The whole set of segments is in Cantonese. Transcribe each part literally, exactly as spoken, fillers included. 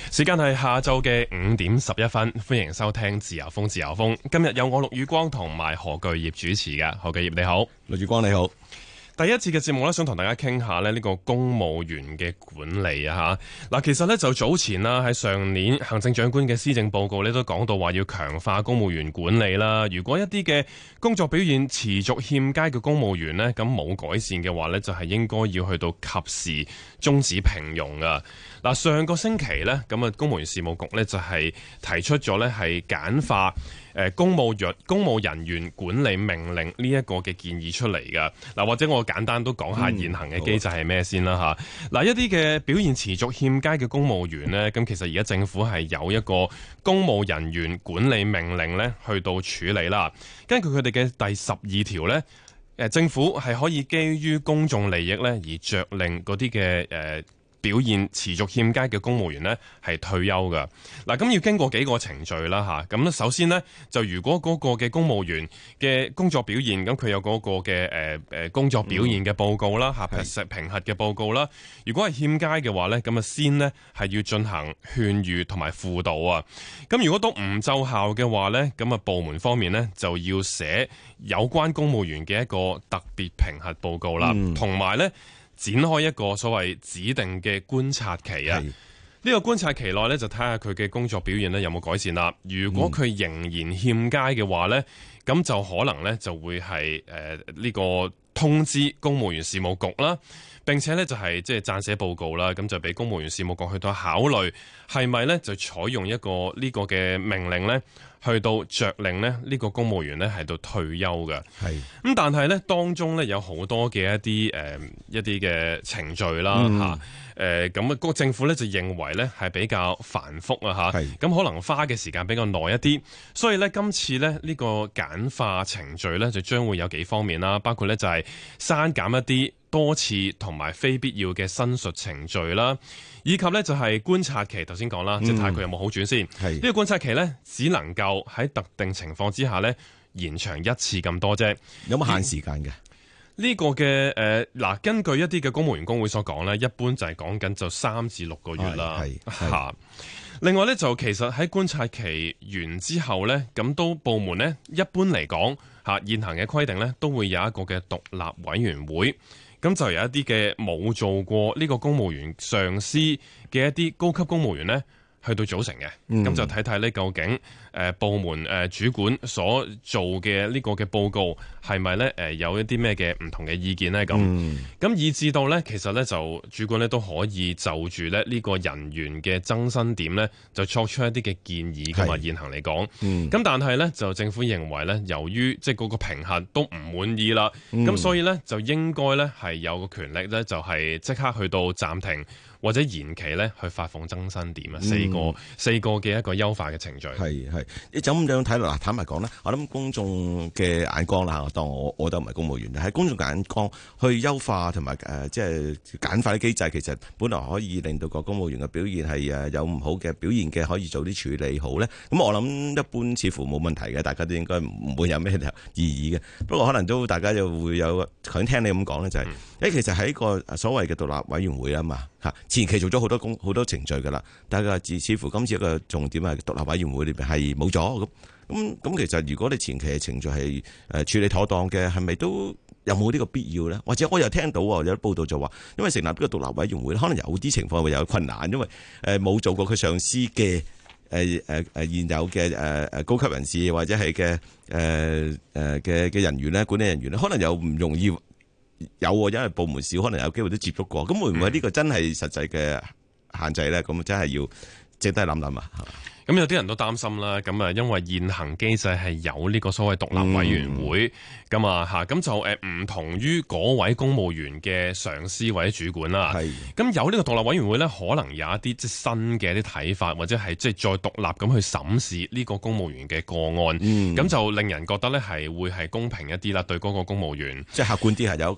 時間係下晝嘅五點十一分，歡迎收聽自由風自由風。今日有我陸宇光同埋何巨業主持嘅。何巨業你好。 陸宇光你好。 第一次嘅節目咧，想同大家傾下咧呢個公務員嘅管理啊吓。嗱，其實咧就早前啦，喺上年行政長官嘅施政報告咧都講到話要強化公務員管理啦。如果一啲嘅工作表現持續欠佳嘅公務員呢，咁冇改善嘅話呢，就係應該要去到及時終止聘用啊。嗱，上個星期呢，咁啊公務員事務局呢就係提出咗呢係簡化誒公務員公務人員管理命令呢一個嘅建議出嚟噶。嗱，或者我簡單都講下現行嘅機制係咩先啦吓。嗱、嗯，一啲嘅表現持續欠佳嘅公務員呢，咁其實而家政府係有一個公務人員管理命令呢去到處理啦。根據佢哋嘅第十二條呢，誒政府係可以基於公眾利益呢而着令嗰啲嘅誒表現持續欠佳嘅公務員呢係退休㗎。嗱，咁要經過幾個程序啦吓。咁首先呢，就如果嗰個嘅公務員嘅工作表現，咁佢有嗰個嘅誒誒工作表現嘅報告啦吓，評評核嘅報告啦。如果係欠佳嘅話呢，咁啊先呢係要進行勸喻同埋輔導啊。咁如果都唔奏效嘅話呢，咁啊部門方面呢就要寫有關公務員嘅一個特別評核報告啦，同埋呢，展開一個所謂指定嘅觀察期啊！呢個觀察期內咧，就睇下佢嘅工作表現咧有冇改善啦。如果佢仍然欠佳嘅話咧，咁、嗯、就可能咧就會係誒呢個通知公務員事務局啦，並且咧就係即係撰寫報告啦，咁就俾公務員事務局去到考慮係咪咧就採用一個呢個嘅命令咧，去到着令咧呢個公務員咧係到退休嘅。係咁，但係咧當中咧有好多嘅一啲誒、呃、一啲嘅程序啦嚇。誒咁啊，個政府咧就認為咧係比較繁複啊嚇，咁可能花嘅時間比較耐一啲，所以咧今次咧呢個簡化程序咧就將會有幾方面啦，包括咧就係刪減一啲多次同埋非必要嘅申述程序啦，以及咧就係觀察期，頭先講啦，即係睇下佢有冇好轉先。呢、呢個觀察期咧只能夠喺特定情況之下咧延長一次咁多啫， 有冇限時間嘅？ 呢、這個嘅誒嗱，根據一啲嘅公務員工會所講咧，一般就係講緊就三至六個月啦。嚇，另外咧就其實喺觀察期完之後咧，咁都部門咧一般嚟講嚇現行嘅規定咧，都會有一個嘅獨立委員會，咁就有一啲嘅冇做過呢個公務員上司嘅一啲高級公務員咧，去到組成嘅，咁、嗯、就睇睇呢究竟誒、呃、部門誒、呃、主管所做嘅呢個嘅報告係咪咧誒有一啲咩嘅唔同嘅意見咧咁，咁、嗯、以至到咧其實咧就主管咧都可以就住咧呢個人員嘅增薪點咧就作出一啲嘅建議㗎嘛。現行嚟講，咁、嗯、但係咧就政府認為咧，由於即係嗰個評核都唔滿意啦，咁、嗯、所以咧就應該咧係有個權力咧就係即刻去到暫停或者延期咧去發放增薪點啊、嗯，四個四個嘅一個優化嘅程序。係係，你就咁樣睇落，嗱坦白講咧，我諗公眾嘅眼光啦，當我我都唔係公務員，喺公眾眼光去優化同埋誒即係簡化啲機制，其實本來可以令到個公務員嘅表現係誒有唔好嘅表現嘅，可以早啲處理好咧。咁我諗一般似乎冇問題嘅，大家都應該唔會有咩異議嘅。不過可能都大家就會有想聽你咁講咧，就係、是、誒、嗯、其實喺個所謂嘅獨立委員會啊嘛嚇。前期做咗好多工好多程序㗎啦，但係似乎今次一個重點係獨立委員會裏邊係冇咗咁咁咁。其實如果你前期嘅程序係誒處理妥當嘅，係咪都有冇呢個必要咧？或者我又聽到有啲報道就話，因為成立呢個獨立委員會，可能有啲情況會有困難，因為誒冇做過佢上司嘅誒誒誒現有嘅誒誒高級人士或者係嘅誒誒嘅嘅人員咧，管理人員咧，可能又唔容易。有，因為部門少，可能有機會都接觸過。咁會唔會呢個真係實際嘅限制咧？咁真係要值得諗諗啊！咁有啲人都擔心啦，咁啊，因為現行機制係有呢個所謂獨立委員會，咁啊嚇，咁就誒唔同於嗰位公務員嘅上司或者主管啦。係，咁有呢個獨立委員會咧，可能有一啲即係新嘅一啲睇法，或者係即係再獨立咁去審視呢個公務員嘅個案，咁、嗯、就令人覺得咧係會係公平一啲啦，對嗰個公務員， 即係客觀啲係有一個人。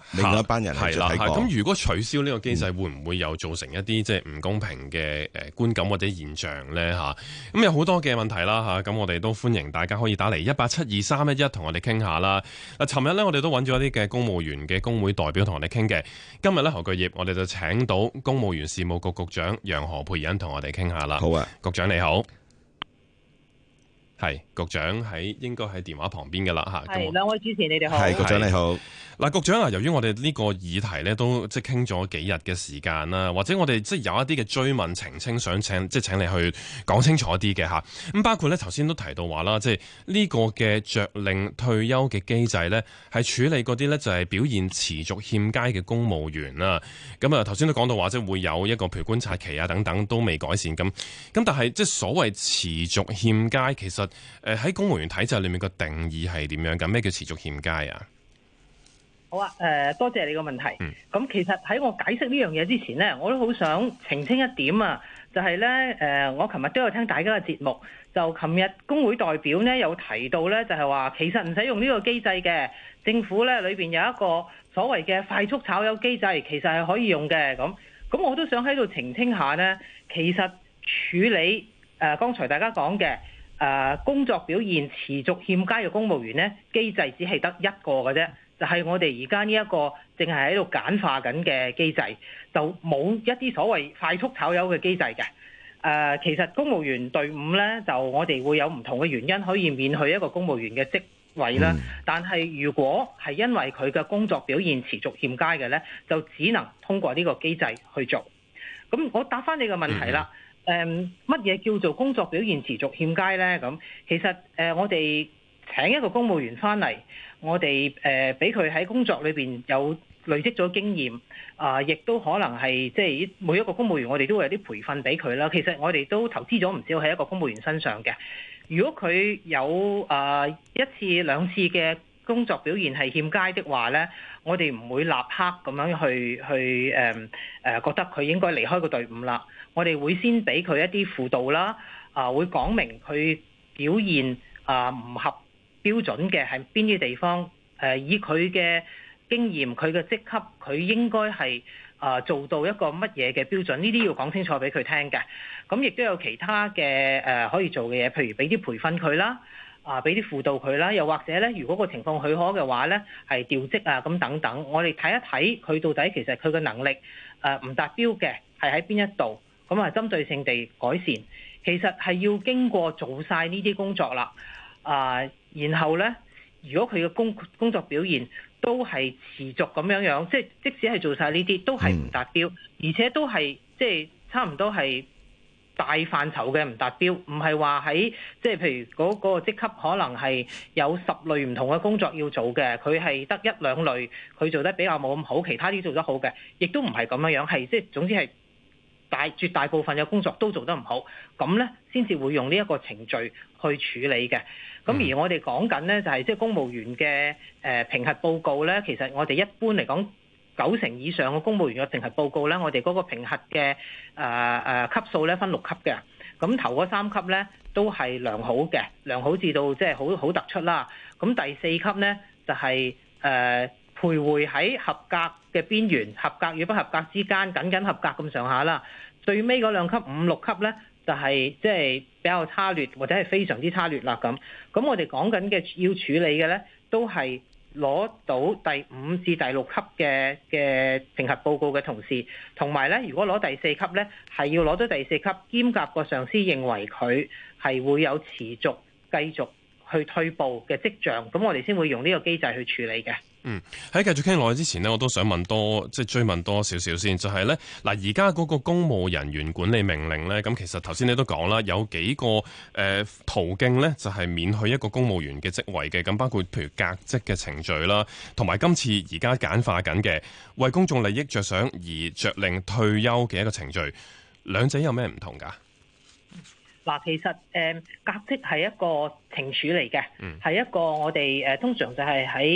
另一班人係睇過。 咁如果取消呢個機制，嗯、會唔會又造成一啲即係唔公平嘅誒觀感或者現象咧？嚇，咁有好多嘅問題啦嚇，咁我哋都歡迎大家可以打嚟一八七二三一一同我哋傾下啦。嗱，尋日咧我哋都揾咗一啲嘅公務員嘅工會代表同我哋傾嘅，今日咧何巨業我哋就請到公務員事務局局長楊何蓓茵同我哋傾下啦。 好啊， 局長你好。係局長喺應該喺電話旁邊嘅啦嚇， 係兩位主持你哋好。 係局長你好。 嗱，局長啊，由於我哋呢個議題咧都即係傾咗幾日嘅時間啦，或者我哋即係有一啲嘅追問澄清，想請即係請你去講清楚啲嘅嚇。咁包括咧頭先都提到話啦，即係呢個嘅着令退休嘅機制咧，係處理嗰啲咧就係表現持續欠佳嘅公務員啦。咁啊頭先都講到話，即係會有一個譬如觀察期啊等等都未改善咁。咁但係即係所謂持續欠佳，其實誒喺公務員體制裏面個定義係點樣㗎？咩叫持續欠佳啊？ 好啊，誒、呃、多謝你個問題。咁、嗯、其實喺我解釋呢樣嘢之前呢，我都好想澄清一點啊，就係、是、呢，誒、呃，我琴日都有聽大家嘅節目，就琴日工會代表呢有提到呢，就係、是、話其實唔使用呢個機制嘅，政府呢裏邊有一個所謂嘅快速炒魷機制，其實係可以用嘅。咁咁我都想喺度澄清下呢，其實處理誒、呃、剛才大家講嘅誒工作表現持續欠佳嘅公務員呢，機制只係得一個嘅啫。就係我哋而家呢一個淨係喺度簡化緊嘅機制，就冇一啲所謂快速炒魷嘅機制嘅。誒、呃，其實公務員隊伍呢，就我哋會有唔同嘅原因可以免去一個公務員嘅職位啦。嗯、但係如果係因為佢嘅工作表現持續欠佳嘅呢，就只能通過呢個機制去做。咁我答翻你個問題啦。誒，乜嘢叫做工作表現持續欠佳呢？咁其實誒、呃，我哋請一個公務員翻嚟。我哋誒俾佢喺工作裏邊有累積咗經驗，啊、呃，亦都可能係即係每一個公務員，我哋都會有啲培訓俾佢啦。其實我哋都投資咗唔少喺一個公務員身上嘅。如果佢有啊、呃、一次兩次嘅工作表現係欠佳的話咧，我哋唔會立刻咁樣去去誒誒、呃呃、覺得佢應該離開個隊伍啦。我哋會先俾佢一啲輔導啦，啊、呃，會講明佢表現啊唔、呃、合標準嘅係邊啲地方？誒、呃，以佢嘅經驗、佢嘅職級，佢應該係啊、呃、做到一個乜嘢嘅標準？呢啲要講清楚俾佢聽嘅。咁亦都有其他嘅誒、呃、可以做嘅嘢，譬如俾啲培訓佢啦，啊俾啲輔導佢啦，又或者咧，如果個情況許可嘅話咧，係調職啊咁等等。我哋睇一睇佢到底其實佢嘅能力誒唔、呃、達標嘅係喺邊一度，咁啊針對性地改善。其實係要經過做晒呢啲工作啦。啊、呃，然後咧，如果佢嘅工工作表現都係持續咁樣樣，即係即使係做晒呢啲，都係唔達標，而且都係即係差唔多係大範疇嘅唔達標，唔係話喺即係譬如嗰、嗰個職級可能係有十類唔同嘅工作要做嘅，佢係得一兩類佢做得比較冇咁好，其他啲做得好嘅，亦都唔係咁樣樣，係即係總之係大絕大部分嘅工作都做得唔好，咁咧先至會用呢一個程序去處理嘅。咁而我哋講緊咧，就係即係公務員嘅誒評核報告咧，其實我哋一般嚟講，九成以上嘅公務員嘅評核報告咧，我哋嗰個評核嘅誒誒級數咧分六級嘅。咁頭嗰三級咧都係良好嘅，良好至到即係好好突出啦。咁第四級咧就係、是、誒、呃、徘徊喺合格嘅邊緣，合格與不合格之間，僅僅合格咁上下啦。最尾嗰兩級五六級咧，就係即係比較差劣或者係非常之差劣啦咁。咁我哋講緊嘅要處理嘅咧，都係攞到第五至第六級嘅嘅評核報告嘅同事，同埋咧，如果攞第四級咧，係要攞到第四級兼夾個上司認為佢係會有持續繼續去退步嘅跡象，咁我哋先會用呢個機制去處理嘅。 嗯，喺繼續傾落去之前呢，我都想問多即係追問多少少先，就係呢，嗱，而家嗰個公務人員管理命令呢，咁其實頭先你都講啦，有幾個誒、呃、途徑呢，就係、是、免去一個公務員嘅職位嘅，咁包括譬如革職嘅程序啦，同埋今次而家簡化緊嘅為公眾利益着想而着令退休嘅一個程序，兩者有咩唔同㗎？ 嗱，其實誒革職係一個懲處嚟嘅，係、嗯、一個我哋誒通常就係喺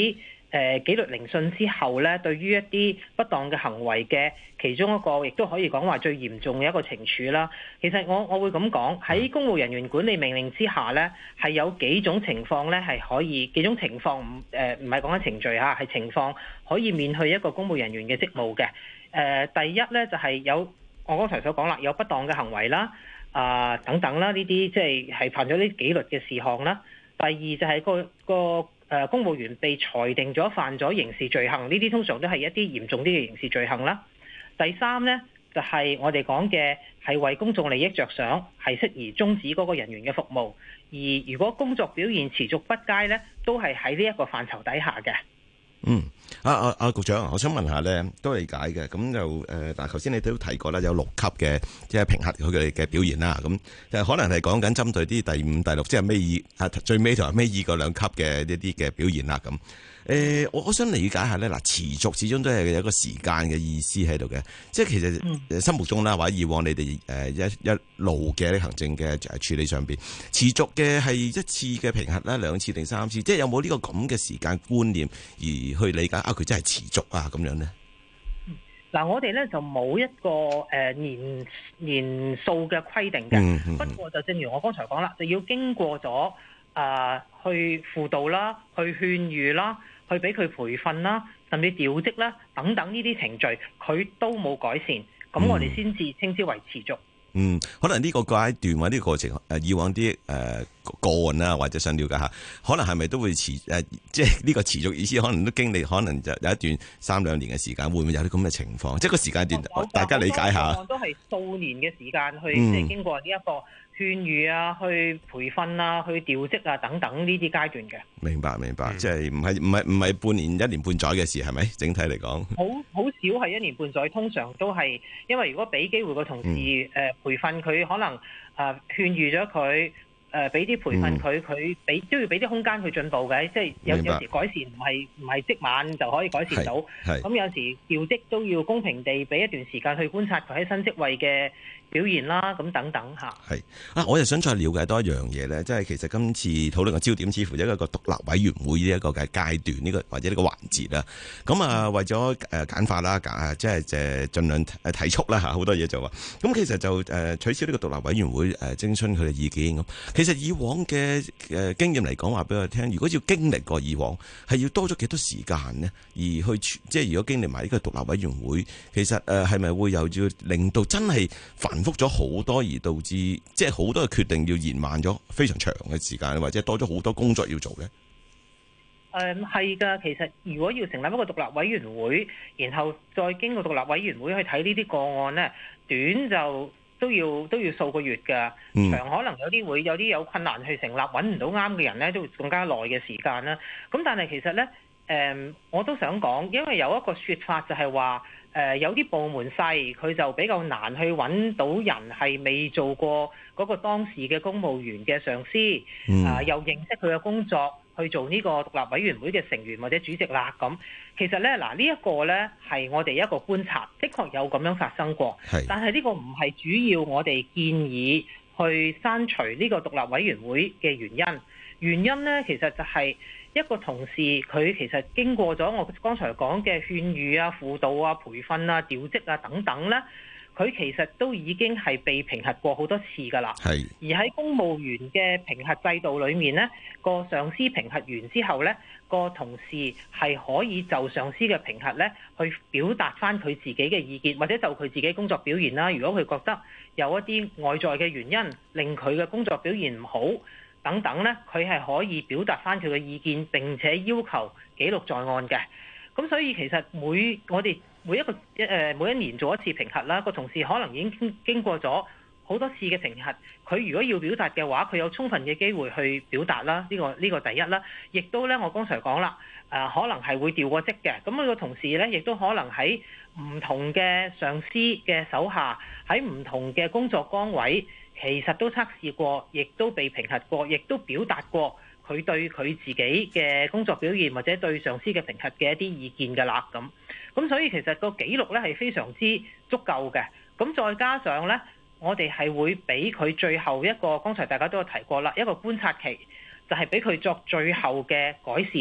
誒紀律聆訊之後咧，對於一啲不當嘅行為嘅其中一個，亦都可以講話最嚴重嘅一個懲處啦。其實我我會咁講，喺公務人員管理命令之下咧，係有幾種情況咧係可以，幾種情況唔誒唔係講緊程序嚇，係情況可以免去一個公務人員嘅職務嘅。誒、呃、第一咧就係、是、有我剛才所講啦，有不當嘅行為啦，啊、呃、等等啦，呢啲即係係犯咗啲紀律嘅事項啦。第二就係個個誒、呃、公務員被裁定咗犯咗刑事罪行，呢啲通常都係一啲嚴重啲嘅刑事罪行啦。第三呢，就係、是、我哋講嘅係為公眾利益着想，係適宜終止嗰個人員嘅服務。而如果工作表現持續不佳呢，都係喺呢一個範疇底下嘅。 嗯，啊啊啊，局長，我想問下咧，都理解嘅，咁就誒，嗱、呃，頭先你都提過啦，有六級嘅即係評核佢哋嘅表現啦，咁就可能係講緊針對啲第五、第六，即係尾二啊，最尾同埋尾二嗰兩級嘅一啲嘅表現啦，咁。誒、呃，我我想理解下咧，嗱，持續始終都係有一個時間嘅意思喺度嘅，即係其實心目中啦，或者以往你哋誒一一路嘅行政嘅處理上邊，持續嘅係一次嘅評核啦，兩次定三次，即係有冇呢個咁嘅時間觀念而去理解啊？佢真係持續啊咁樣咧？ 嗱，我哋咧就冇一個誒年年數嘅規定嘅，嗯嗯、不過就正如我剛才講啦，就要經過咗啊、呃、去輔導啦，去勸喻啦。去俾佢培訓啦，甚至調職啦，等等呢啲程序，佢都冇改善，咁我哋先至稱之為持續。 嗯，可能呢個階段或者呢個過程，誒以往啲誒、呃、個案啦，或者想了解下，可能係咪都會持誒、呃，即係呢個持續意思，可能都經歷，可能就有一段三兩年嘅時間，會唔會有啲咁嘅情況？即係個時間段，哦、大家理解下。 都係數年嘅時間去，即係、嗯、經過呢一個勸喻啊，去培訓啊，去調職啊，等等呢啲階段嘅。明白，明白，嗯、即係唔係唔係唔係半年、一年半載嘅事，係咪？整體嚟講，好好少係一年半載，通常都係因為如果俾機會個同事誒、嗯呃、培訓佢，可能誒勸喻咗佢。誒俾啲培訓佢，佢俾都要俾啲空間去進步嘅，即係有有時改善唔係唔係即晚就可以改善到。咁有時調職都要公平地俾一段時間去觀察佢喺新職位嘅表現啦，咁等等嚇。係啊，我又想再了解多一樣嘢咧，即係其實今次討論嘅焦點似乎一個獨立委員會呢一個嘅階段，呢個或者呢個環節啦。咁啊，為咗誒簡化啦，簡即係誒盡量誒提速啦嚇，好多嘢就話。咁其實就誒取消呢個獨立委員會誒徵詢佢嘅意見咁。其實以往嘅誒經驗嚟講，話俾我聽，如果要經歷過以往，係要多咗幾多時間呢？而去即係如果經歷埋呢個獨立委員會，其實誒係咪會又要令到真係繁複咗好多，而導致即係好多嘅決定要延慢咗非常長嘅時間，或者多咗好多工作要做呢？ 誒係㗎，其實如果要成立一個獨立委員會，然後再經過獨立委員會去睇呢啲個案呢，短就都要都要數個月㗎，長可能有啲會有啲有困難去成立，揾唔到啱嘅人咧，都會更加耐嘅時間啦。咁但係其實咧，誒、呃、我都想講，因為有一個説法就係話，誒、呃、有啲部門細，佢就比較難去揾到人係未做過嗰個當時嘅公務員嘅上司，啊、呃、又認識佢嘅工作。去做呢個獨立委員會嘅成員或者主席啦，咁其實咧嗱，呢一個咧係我哋一個觀察，的確有咁樣發生過，是但係呢個唔係主要我哋建議去刪除呢個獨立委員會嘅原因。原因咧其實就係一個同事佢其實經過咗我剛才講嘅勸喻啊、輔導啊、培訓啊、調職啊等等咧。佢其實都已經係被評核過好多次㗎啦，係。而喺公務員嘅評核制度裏面呢，個上司評核完之後呢，個同事係可以就上司嘅評核呢去表達翻佢自己嘅意見，或者就佢自己工作表現啦。如果佢覺得有一啲外在嘅原因令佢嘅工作表現唔好等等呢，佢係可以表達翻佢嘅意見，並且要求記錄在案嘅。咁所以其實每我哋每一個一誒每一年做一次評核啦，個同事可能已經經過咗好多次嘅評核，佢如果要表達嘅話，佢有充分嘅機會去表達啦。呢個呢個第一啦，亦都咧我剛才講啦，誒可能係會調過職嘅。咁佢個同事咧，亦都可能喺唔同嘅上司嘅手下，喺唔同嘅工作崗位，其實都測試過，亦都被評核過，亦都表達過佢對佢自己嘅工作表現或者對上司嘅評核嘅一啲意見㗎啦。咁咁所以其實個記錄咧係非常之足夠嘅。咁再加上咧，我哋係會俾佢最後一個，剛才大家都有提過啦，一個觀察期，就係俾佢作最後嘅改善。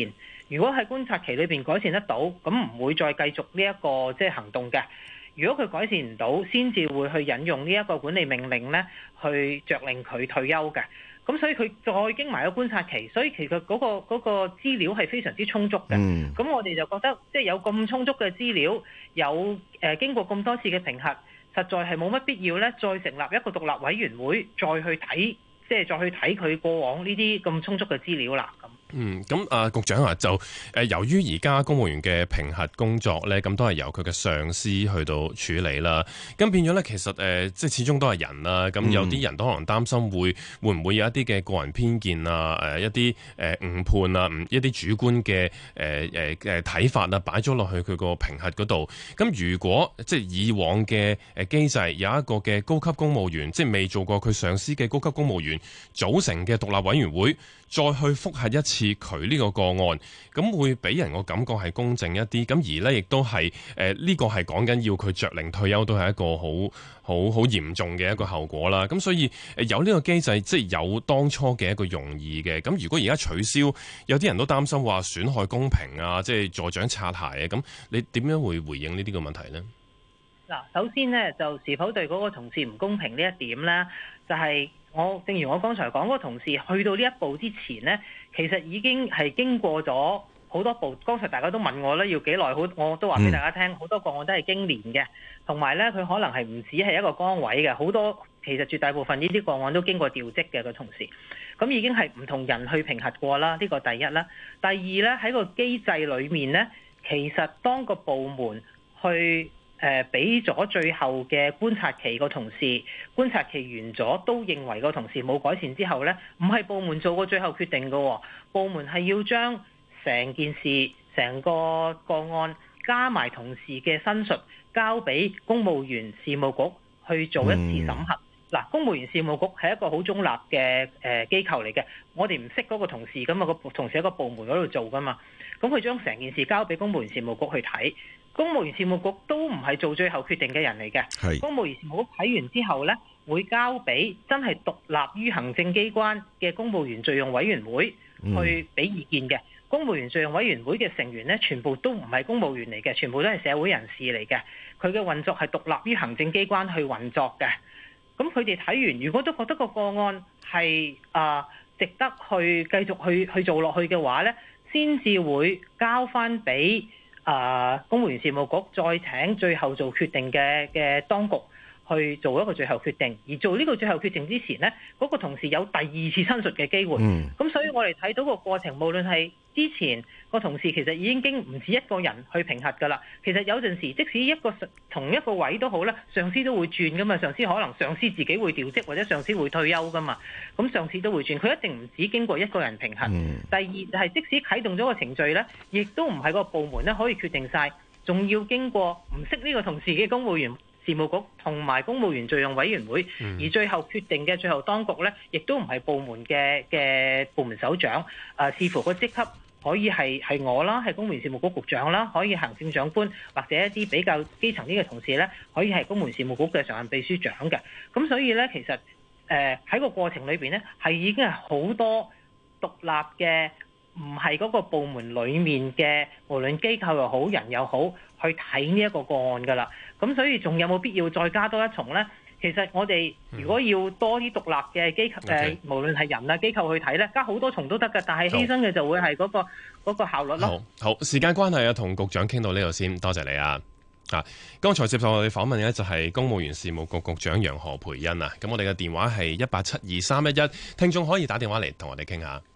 如果喺觀察期裏邊改善得到，咁唔會再繼續呢一個即係行動嘅。如果佢改善唔到，先至會去引用呢一個管理命令咧，去着令佢退休嘅。咁所以佢再經埋個觀察期，所以其實嗰個嗰個資料係非常之充足嘅。咁、嗯、我哋就覺得即係有咁充足嘅資料，有誒經過咁多次嘅評核，實在係冇乜必要咧，再成立一個獨立委員會，再去睇，即係再去睇佢過往呢啲咁充足嘅資料啦。咁嗯，咁啊，局長啊，就誒由於而家公務員嘅評核工作咧，咁都係由佢嘅上司去到處理啦。咁變咗咧，其實誒、呃，即係始終都係人啦。咁有啲人都可能擔心會會唔會有一啲嘅個人偏見啊，誒、呃、一啲誒誤判啊，唔一啲主觀嘅誒誒誒睇法啊，擺咗落去佢個評核嗰度。咁如果即係以往嘅誒機制有一個嘅高級公務員，即係未做過佢上司嘅高級公務員組成嘅獨立委員會，再去覆核一次佢呢個個案，咁會俾人個感覺係公正一啲。咁而呢亦都係誒呢個係講緊要佢着令退休，都係一個好好好嚴重嘅一個後果啦。咁所以誒有呢個機制，即係有當初嘅一個用意嘅。咁如果而家取消，有啲人都擔心話損害公平啊，即係助長擦鞋啊。咁你點樣會回應呢啲個問題呢？ 嗱，首先呢，就是否對嗰個同事唔公平呢一點呢，就係、是。我正如我剛才講，嗰個同事去到呢一步之前呢，其實已經係經過咗好多步。剛才大家都問我咧，要幾耐？好，我都話俾大家聽，好多個案都係經年嘅，同埋呢，佢可能係唔止係一個崗位嘅，好多其實絕大部分呢啲個案都經過調職嘅個同事，咁已經係唔同人去評核過啦。呢個第一啦，第二呢，喺個機制裏面呢，其實當個部門去誒俾咗最後嘅觀察期個同事，觀察期完咗都認為個同事冇改善之後呢，唔係部門做過最後決定嘅，部門係要將成件事、成個個案加埋同事嘅申述，交俾公務員事務局去做一次審核。嗱、嗯，公務員事務局係一個好中立嘅誒機構嚟嘅，我哋唔識嗰個同事咁啊，個同事喺個部門嗰度做噶嘛，咁佢將成件事交俾公務員事務局去睇。公務員事務局都唔係做最後決定嘅人嚟嘅，公務員事務局睇完之後呢，會交俾真係獨立於行政機關嘅公務員敘用委員會去俾意見嘅。嗯、公務員敘用委員會嘅成員呢，全部都唔係公務員嚟嘅，全部都係社會人士嚟嘅。佢嘅運作係獨立於行政機關去運作嘅。咁佢哋睇完，如果都覺得個個案係啊、呃、值得去繼續去去做落去嘅話呢，先至會交翻俾啊！公務員事務局再請最後做決定嘅嘅當局去做一個最後決定，而做呢個最後決定之前呢，嗰、那個同事有第二次申述嘅機會。咁、嗯、所以我哋睇到個過程，無論係之前個同事其實已經經唔止一個人去評核㗎啦。其實有陣時，即使一個同一個位都好啦，上司都會轉㗎嘛。上司可能上司自己會調職，或者上司會退休㗎嘛。咁上司都會轉，佢一定唔止經過一個人評核。嗯、第二就係、是、即使啟動咗個程序呢，亦都唔係個部門咧可以決定晒，仲要經過唔識呢個同事嘅公務員事務局同埋公務員敘用委員會，而最後決定嘅最後當局呢，亦都唔係部門嘅嘅部門首長。啊，視乎個職級可以係係我啦，係公務員事務局局長啦，可以行政長官或者一啲比較基層啲嘅同事呢，可以係公務員事務局嘅常任秘書長嘅。咁所以呢，其實誒喺、呃、個過程裏邊呢，係已經係好多獨立嘅，唔係嗰個部門裡面嘅，無論機構又好，人又好，去睇呢一個個案㗎啦。咁所以仲有冇必要再加多一重呢？其實我哋如果要多啲獨立嘅機構，誒、嗯呃，無論係人啊機構去睇呢，加好多重都得㗎。但係犧牲嘅就會係嗰、嗰個嗰、嗰個效率咯。 好，好，時間關係啊，同局長傾到呢度先，多謝你啊。啊，剛才接受我哋訪問嘅就係公務員事務局局長楊何蓓茵啊。咁我哋嘅電話係一八七二三一一，聽眾可以打電話嚟同我哋傾下。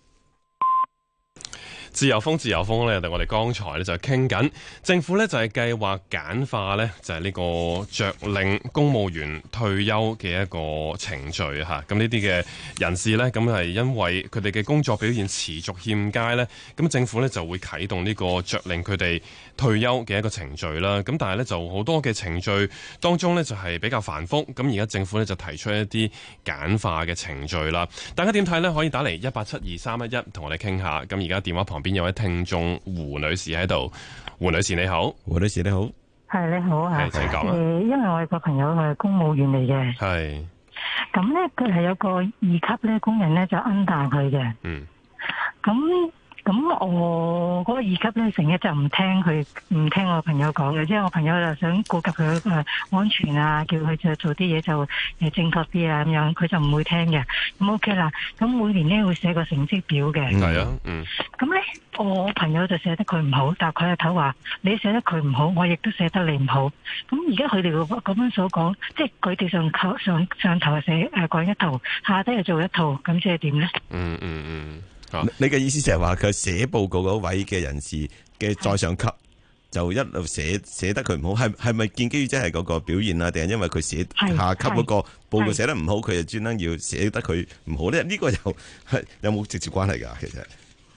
自由風，自由風咧，我哋剛才咧就傾緊，政府咧就係計劃簡化咧，就係呢個着令公務員退休嘅一個程序嚇。咁呢啲嘅人士咧，咁係因為佢哋嘅工作表現持續欠佳咧，咁政府咧就會啟動呢個着令佢哋退休嘅一個程序啦。咁但係咧就好多嘅程序當中咧就係比較繁複，咁而家政府咧就提出一啲簡化嘅程序啦。大家點睇咧？可以打嚟一八七二三一一同我哋傾下。咁而家電話旁邊有位聽眾胡女士喺度，胡女士你好， 胡女士你好， 係你好啊， 請講啊。 誒，因為我有個朋友係公務員嚟嘅， 係， 咁咧佢係有個二級咧工人咧就 under 佢嘅， 嗯， 咁咁我嗰個二級咧，成日就唔聽佢，唔聽我朋友講嘅，即係我朋友就想顧及佢誒安全啊，叫佢就做啲嘢就誒正確啲啊咁樣，佢就唔會聽嘅。咁 OK 啦，咁每年咧會寫個成績表嘅。 係啊，嗯。 咁咧，我朋友就寫得佢唔好，但係佢阿頭話你寫得佢唔好，我亦都寫得你唔好。咁而家佢哋咁樣所講，即係佢哋上頭上上頭寫誒講一套，下低又做一套，咁即係點咧？ 嗯嗯嗯。 你嘅意思就係話佢寫報告嗰位嘅人士嘅再上級就一路寫寫得佢唔好，係係咪建基於即係嗰個表現啊？定係因為佢寫下級嗰個報告寫得唔好，佢就專登要寫得佢唔好咧？呢個又係有冇直接關係㗎？其實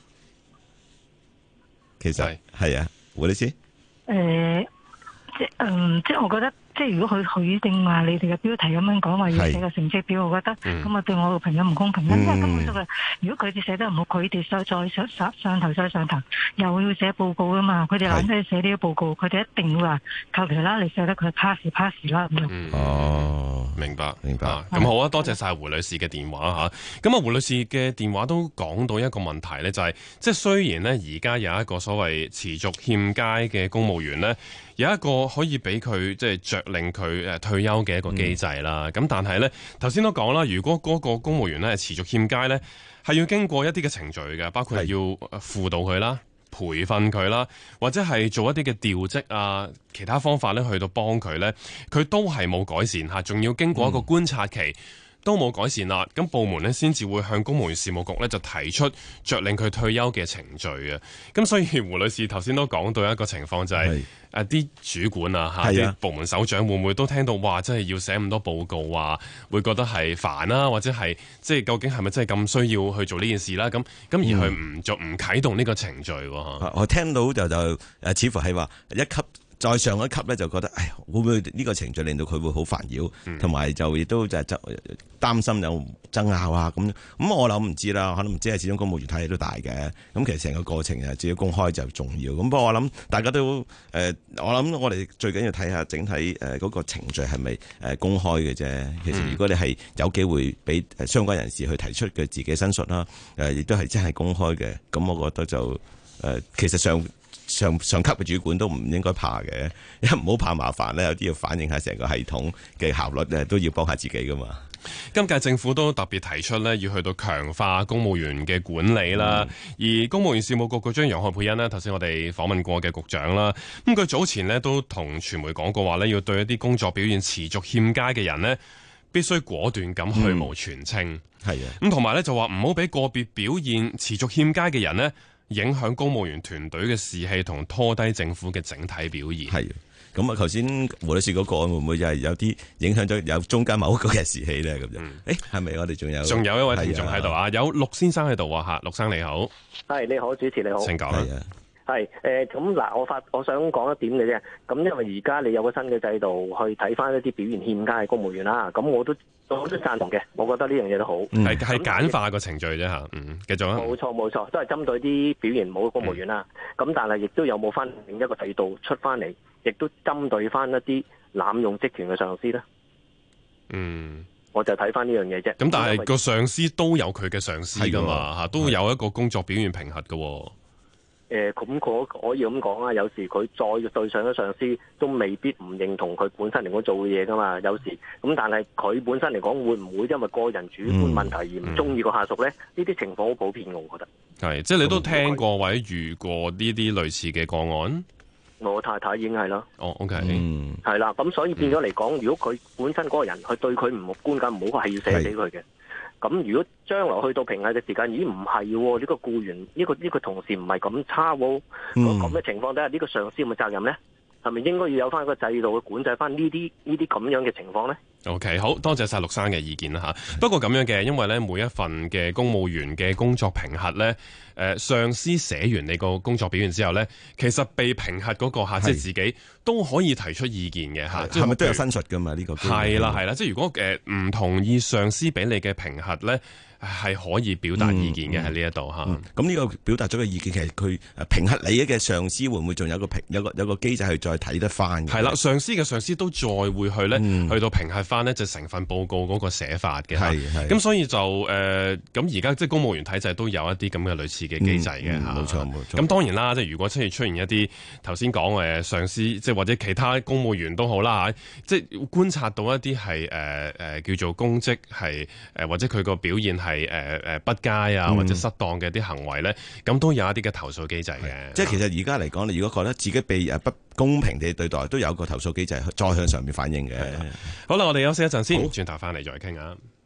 其實係啊，胡律師。 誒，即係嗯，即係我覺得。即係如果佢佢定話你哋嘅標題咁樣講話要寫個成績表，我覺得咁啊對我個朋友唔公平。因為根本上，如果佢哋寫得唔好，佢哋再再上上上頭再上頭，又要寫報告噶嘛。佢哋懶得寫呢個報告，佢哋一定會話求其啦，你寫得佢 pass pass 啦咁樣。 嗯、 哦， 明白明白。 咁好啊，多謝晒胡女士嘅電話嚇。咁啊，胡女士嘅電話都講到一個問題咧，就係、是、即係雖然呢，而家有一個所謂持續欠佳嘅公務員呢，有一個可以俾佢即係着令佢誒退休嘅一個機制啦，咁、嗯、但係呢，頭先都講啦，如果嗰個公務員呢係持續欠佳呢，係要經過一啲嘅程序嘅，包括要輔導佢啦、培訓佢啦，或者係做一啲嘅調職啊，其他方法呢去到幫佢呢，佢都係冇改善嚇，仲要經過一個觀察期。嗯都冇改善啦，咁部門呢先至會向公務員事務局呢就提出着令佢退休嘅程序啊。咁所以胡女士頭先都講到一個情況就係誒啲主管啊嚇，啲部門首長會唔會都聽到哇，真係要寫咁多報告啊，會覺得係煩啦，或者係即係究竟係咪真係咁需要去做呢件事啦？咁咁而佢唔做唔啟動呢個程序喎、 嗯、我聽到就就誒，似乎係話一級。再上一級咧，就覺得，唉，會唔會呢個程序令到佢會好煩擾，同埋、嗯、就亦都就係擔心有爭拗啊咁。咁我諗唔知啦，可能唔知係始終公務員體系都大嘅。咁其實成個過程啊，只要公開就重要。咁不過我諗大家都誒、呃，我諗我哋最緊要睇下整體誒嗰個程序係咪誒公開嘅啫。其實如果你係有機會俾相關人士去提出佢自己申述啦，誒亦都係真係公開嘅。咁我覺得就誒、呃，其實上。上上級嘅主管都唔應該怕嘅，因為唔好怕麻煩咧，有啲要反映下成個系統嘅效率咧，都要幫下自己噶嘛。 今屆政府都特別提出咧，要去到強化公務員嘅管理啦。嗯、而公務員事務局局長楊何蓓茵呢，頭先我哋訪問過嘅局長啦，咁佢早前呢都同傳媒講過話咧，要對一啲工作表現持續欠佳嘅人呢，必須果斷咁去蕪存菁。係啊、嗯，咁同埋咧就話唔好俾個別表現持續欠佳嘅人呢，影響公務員團隊嘅士氣同拖低政府嘅整體表現。係， 咁啊，頭先胡女士嗰個會唔會就係有啲影響咗有中間某一個嘅士氣咧？咁樣、嗯，誒係咪我哋仲有？仲有一位聽眾喺度啊，有陸先生喺度啊嚇，陸生你好。 係你好，主持你好。 請講啦。 係誒咁嗱，我發我想講一點嘅啫。咁因為而家你有個新嘅制度去睇翻一啲表現欠佳嘅公務員啦，咁我都我都贊同嘅。我覺得呢樣嘢都好， 係係、嗯、簡化個程序啫嚇。嗯，繼續啊。冇錯冇錯，都係針對啲表現唔好嘅公務員啦。咁、嗯、但係亦都有冇翻另一個制度出翻嚟，亦都針對翻一啲濫用職權嘅上司咧。嗯，我就睇翻呢樣嘢啫。咁但係個上司都有佢嘅上司噶嘛嚇，都有一個工作表現評核嘅。 誒咁可可以咁講啊，有時佢再對上咗上司都未必唔認同佢本身嚟講做嘅嘢噶嘛，有時咁但係佢本身嚟講會唔會因為個人主觀問題而唔中意個下屬咧？呢啲、嗯、情況好普遍，我覺得係即係你都聽過或者遇過呢啲類似嘅個案。 我太太已經係啦。 哦 OK 嗯，係啦，咁所以變咗嚟講，嗯、如果佢本身嗰個人佢對佢唔觀感唔好，係要寫死佢嘅。咁如果將來去到評核嘅時間，咦唔係喎？呢、這個僱員，呢、這個呢、這個同事唔係咁差喎。咁嘅、嗯、情況底下，呢、這個上司有冇責任咧？係咪應該要有翻一個制度去管制翻呢啲呢啲咁樣嘅情況咧？ OK， 好多謝晒陸生嘅意見啦嚇。不過咁樣嘅，因為咧每一份嘅公務員嘅工作評核咧，誒、呃、上司寫完你個工作表現之後咧，其實被評核嗰、那個嚇，即係自己都可以提出意見嘅嚇。 係咪都有申述㗎嘛？呢、這個係啦係啦，即係如果誒唔、呃、同意上司俾你嘅評核咧，係可以表達意見嘅喺呢一度嚇。咁呢、 嗯嗯、個表達咗嘅意見，其實佢評核你嘅上司會唔會仲有個評有個有個機制去再睇得翻？ 係啦，上司嘅上司都再會去咧、嗯、去到評核翻。 翻呢就成份報告嗰個寫法嘅。 係係。 咁所以就誒咁而家即係公務員體制都有一啲咁嘅類似嘅機制嘅嚇。 冇錯冇錯。 咁當然啦，即係如果出現出現一啲頭先講誒上司，即係或者其他公務員都好啦嚇，即係觀察到一啲係誒誒叫做公職係誒或者佢個表現係誒誒不佳啊或者失當嘅啲行為咧，咁、嗯、都有一啲嘅投訴機制嘅。 即係其實而家嚟講，你如果覺得自己被誒不公平地對待，都有個投訴機制再向上面反映嘅。 好啦，我哋休息一陣先，轉頭翻嚟再傾下。